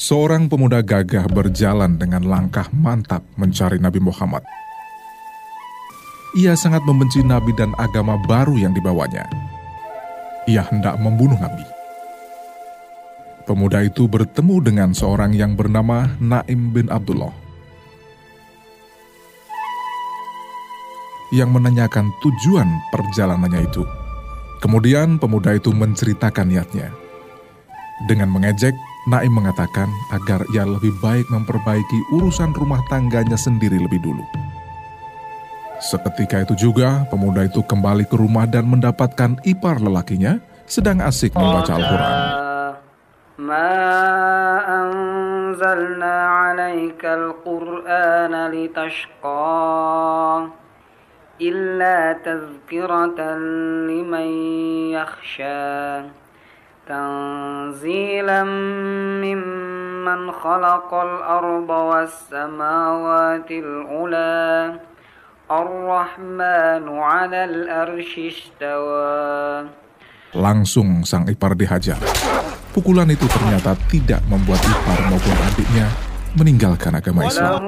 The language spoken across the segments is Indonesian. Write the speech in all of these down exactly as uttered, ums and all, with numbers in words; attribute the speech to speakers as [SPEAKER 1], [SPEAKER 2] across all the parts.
[SPEAKER 1] Seorang pemuda gagah berjalan dengan langkah mantap mencari Nabi Muhammad. Ia sangat membenci Nabi dan agama baru yang dibawanya. Ia hendak membunuh Nabi. Pemuda itu bertemu dengan seorang yang bernama Naim bin Abdullah, yang menanyakan tujuan perjalanannya itu. Kemudian pemuda itu menceritakan niatnya. Dengan mengejek, Naim mengatakan agar ia lebih baik memperbaiki urusan rumah tangganya sendiri lebih dulu. Seketika itu juga, pemuda itu kembali ke rumah dan mendapatkan ipar lelakinya sedang asik membaca Al-Quran.
[SPEAKER 2] Ma anzalna 'alaikal Qur'ana litashqa illa tadhkiratan liman yakhsha tanzilan mimman khalaqal arda was samawatil ula ar-rahmanu 'alal arsy istawa.
[SPEAKER 1] Langsung sang ipar dihajar. Pukulan itu ternyata tidak membuat ipar maupun adiknya meninggalkan agama Islam.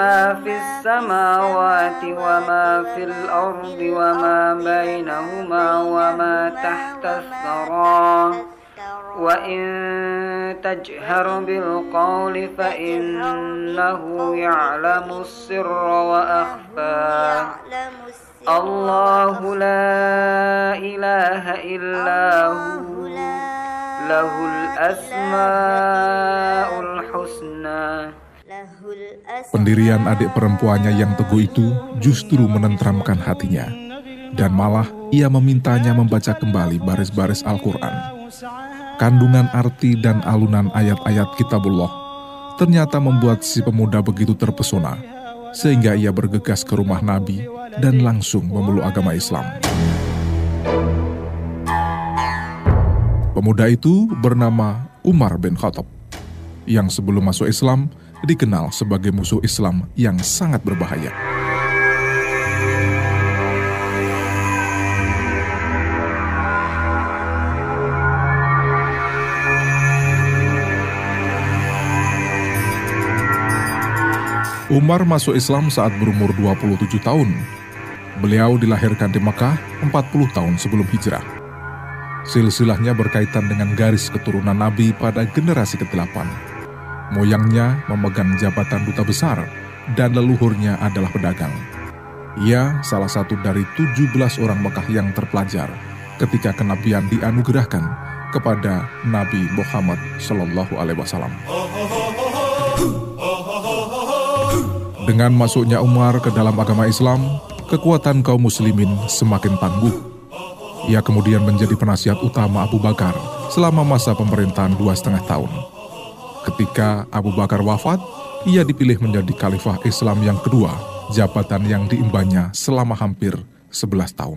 [SPEAKER 2] Wa in tajhar bil qawli fa innahu ya'lamus sirra wa akhfa. Allahu la ilaha illahu lahul asmaul husna.
[SPEAKER 1] Pendirian adik perempuannya yang teguh itu justru menenteramkan hatinya, dan malah ia memintanya membaca kembali baris-baris Al-Quran. Kandungan arti dan alunan ayat-ayat Kitabullah ternyata membuat si pemuda begitu terpesona, sehingga ia bergegas ke rumah Nabi dan langsung memeluk agama Islam. Pemuda itu bernama Umar bin Khattab, yang sebelum masuk Islam dikenal sebagai musuh Islam yang sangat berbahaya. Umar masuk Islam saat berumur dua puluh tujuh tahun. Beliau dilahirkan di Mekah empat puluh tahun sebelum hijrah. Silsilahnya berkaitan dengan garis keturunan Nabi pada generasi kedelapan. Moyangnya memegang jabatan duta besar dan leluhurnya adalah pedagang. Ia salah satu dari tujuh belas orang Mekah yang terpelajar ketika kenabian dianugerahkan kepada Nabi Muhammad Shallallahu Alaihi Wasallam. Dengan masuknya Umar ke dalam agama Islam, kekuatan kaum muslimin semakin tangguh. Ia kemudian menjadi penasihat utama Abu Bakar selama masa pemerintahan dua setengah tahun. Ketika Abu Bakar wafat, ia dipilih menjadi khalifah Islam yang kedua, jabatan yang diembannya selama hampir sebelas tahun.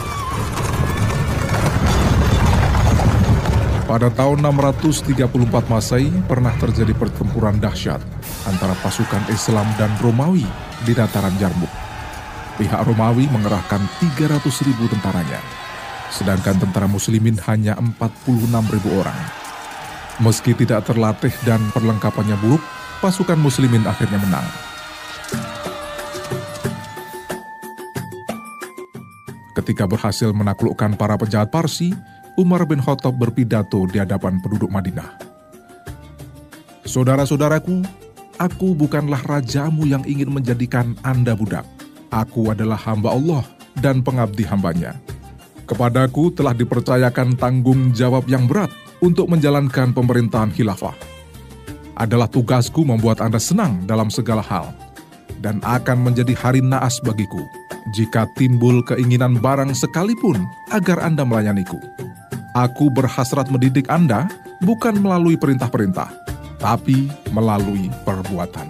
[SPEAKER 1] Pada tahun enam ratus tiga puluh empat Masehi pernah terjadi pertempuran dahsyat antara pasukan Islam dan Romawi di dataran Yarmuk. Pihak Romawi mengerahkan tiga ratus ribu tentaranya, sedangkan tentara muslimin hanya empat puluh enam ribu orang. Meski tidak terlatih dan perlengkapannya buruk, pasukan muslimin akhirnya menang. Ketika berhasil menaklukkan para penjahat Parsi, Umar bin Khattab berpidato di hadapan penduduk Madinah. Saudara-saudaraku, aku bukanlah rajamu yang ingin menjadikan Anda budak. Aku adalah hamba Allah dan pengabdi hambanya. Kepadaku telah dipercayakan tanggung jawab yang berat untuk menjalankan pemerintahan khilafah. Adalah tugasku membuat Anda senang dalam segala hal, dan akan menjadi hari naas bagiku jika timbul keinginan barang sekalipun agar Anda melayaniku. Aku berhasrat mendidik Anda bukan melalui perintah-perintah, tapi melalui perbuatan.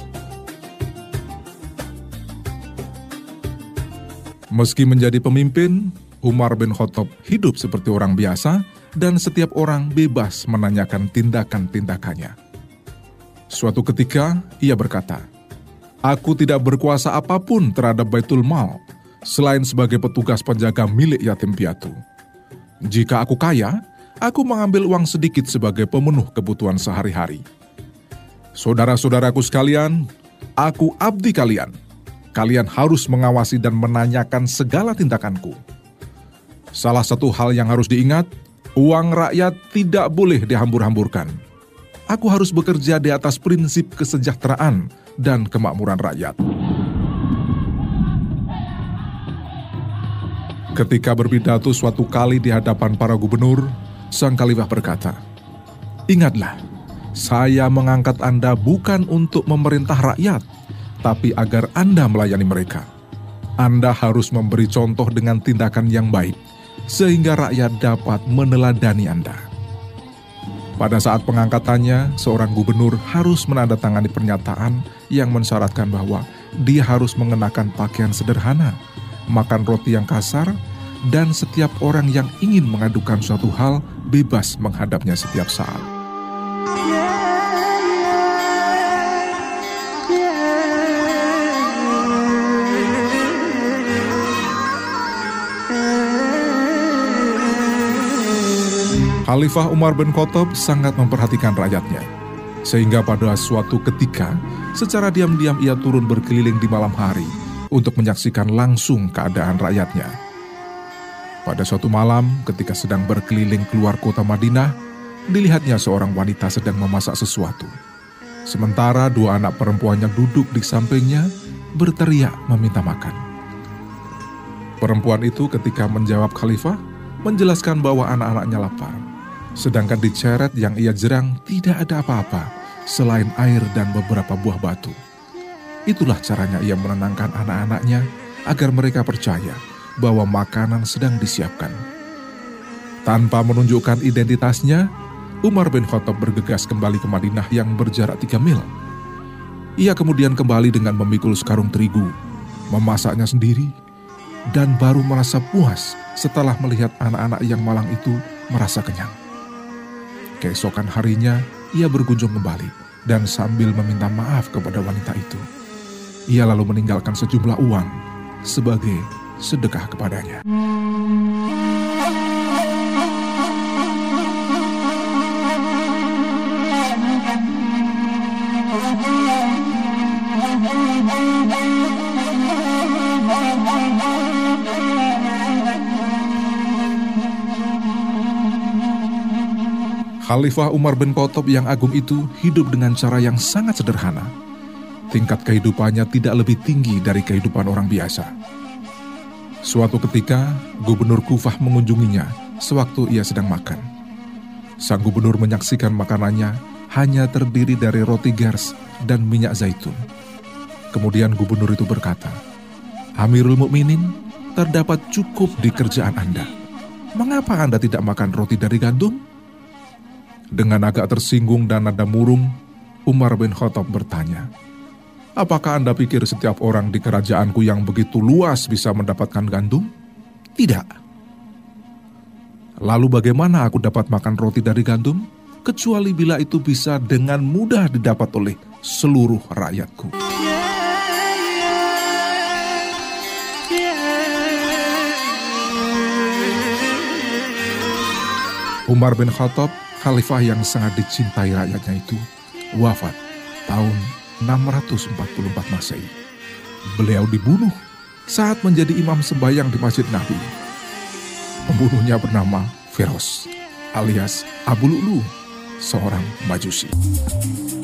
[SPEAKER 1] Meski menjadi pemimpin, Umar bin Khattab hidup seperti orang biasa dan setiap orang bebas menanyakan tindakan-tindakannya. Suatu ketika, ia berkata, "Aku tidak berkuasa apapun terhadap Baitul Mal, selain sebagai petugas penjaga milik yatim piatu. Jika aku kaya, aku mengambil uang sedikit sebagai pemenuh kebutuhan sehari-hari. Saudara-saudaraku sekalian, aku abdi kalian. Kalian harus mengawasi dan menanyakan segala tindakanku. Salah satu hal yang harus diingat, uang rakyat tidak boleh dihambur-hamburkan. Aku harus bekerja di atas prinsip kesejahteraan dan kemakmuran rakyat. Ketika berpidato suatu kali di hadapan para gubernur, sang khalifah berkata, "Ingatlah, saya mengangkat Anda bukan untuk memerintah rakyat, tapi agar Anda melayani mereka. Anda harus memberi contoh dengan tindakan yang baik, sehingga rakyat dapat meneladani Anda." Pada saat pengangkatannya, seorang gubernur harus menandatangani pernyataan yang mensyaratkan bahwa dia harus mengenakan pakaian sederhana, makan roti yang kasar, dan setiap orang yang ingin mengadukan suatu hal bebas menghadapnya setiap saat. Khalifah Umar bin Khattab sangat memperhatikan rakyatnya, sehingga pada suatu ketika, secara diam-diam ia turun berkeliling di malam hari untuk menyaksikan langsung keadaan rakyatnya. Pada suatu malam, ketika sedang berkeliling keluar kota Madinah, dilihatnya seorang wanita sedang memasak sesuatu. Sementara dua anak perempuannya duduk di sampingnya, berteriak meminta makan. Perempuan itu ketika menjawab Khalifah, menjelaskan bahwa anak-anaknya lapar. Sedangkan di ceret yang ia jerang tidak ada apa-apa selain air dan beberapa buah batu. Itulah caranya ia menenangkan anak-anaknya agar mereka percaya bahwa makanan sedang disiapkan. Tanpa menunjukkan identitasnya, Umar bin Khattab bergegas kembali ke Madinah yang berjarak tiga mil. Ia kemudian kembali dengan memikul sekarung terigu, memasaknya sendiri, dan baru merasa puas setelah melihat anak-anak yang malang itu merasa kenyang. Keesokan harinya, ia berkunjung kembali dan sambil meminta maaf kepada wanita itu. Ia lalu meninggalkan sejumlah uang sebagai sedekah kepadanya. Khalifah Umar bin Khattab yang agung itu hidup dengan cara yang sangat sederhana. Tingkat kehidupannya tidak lebih tinggi dari kehidupan orang biasa. Suatu ketika, Gubernur Kufah mengunjunginya sewaktu ia sedang makan. Sang gubernur menyaksikan makanannya hanya terdiri dari roti gers dan minyak zaitun. Kemudian gubernur itu berkata, "Amirul Mukminin, terdapat cukup di kerjaan Anda. Mengapa Anda tidak makan roti dari gandum?" Dengan agak tersinggung dan nada murung, Umar bin Khattab bertanya, "Apakah Anda pikir setiap orang di kerajaanku yang begitu luas bisa mendapatkan gandum? Tidak. Lalu bagaimana aku dapat makan roti dari gandum? Kecuali bila itu bisa dengan mudah didapat oleh seluruh rakyatku." Umar bin Khattab, khalifah yang sangat dicintai rakyatnya itu, wafat tahun enam ratus empat puluh empat Masehi. Beliau dibunuh saat menjadi imam sembahyang di Masjid Nabi. Pembunuhnya bernama Firoz alias Abu Lu'lu, seorang Majusi.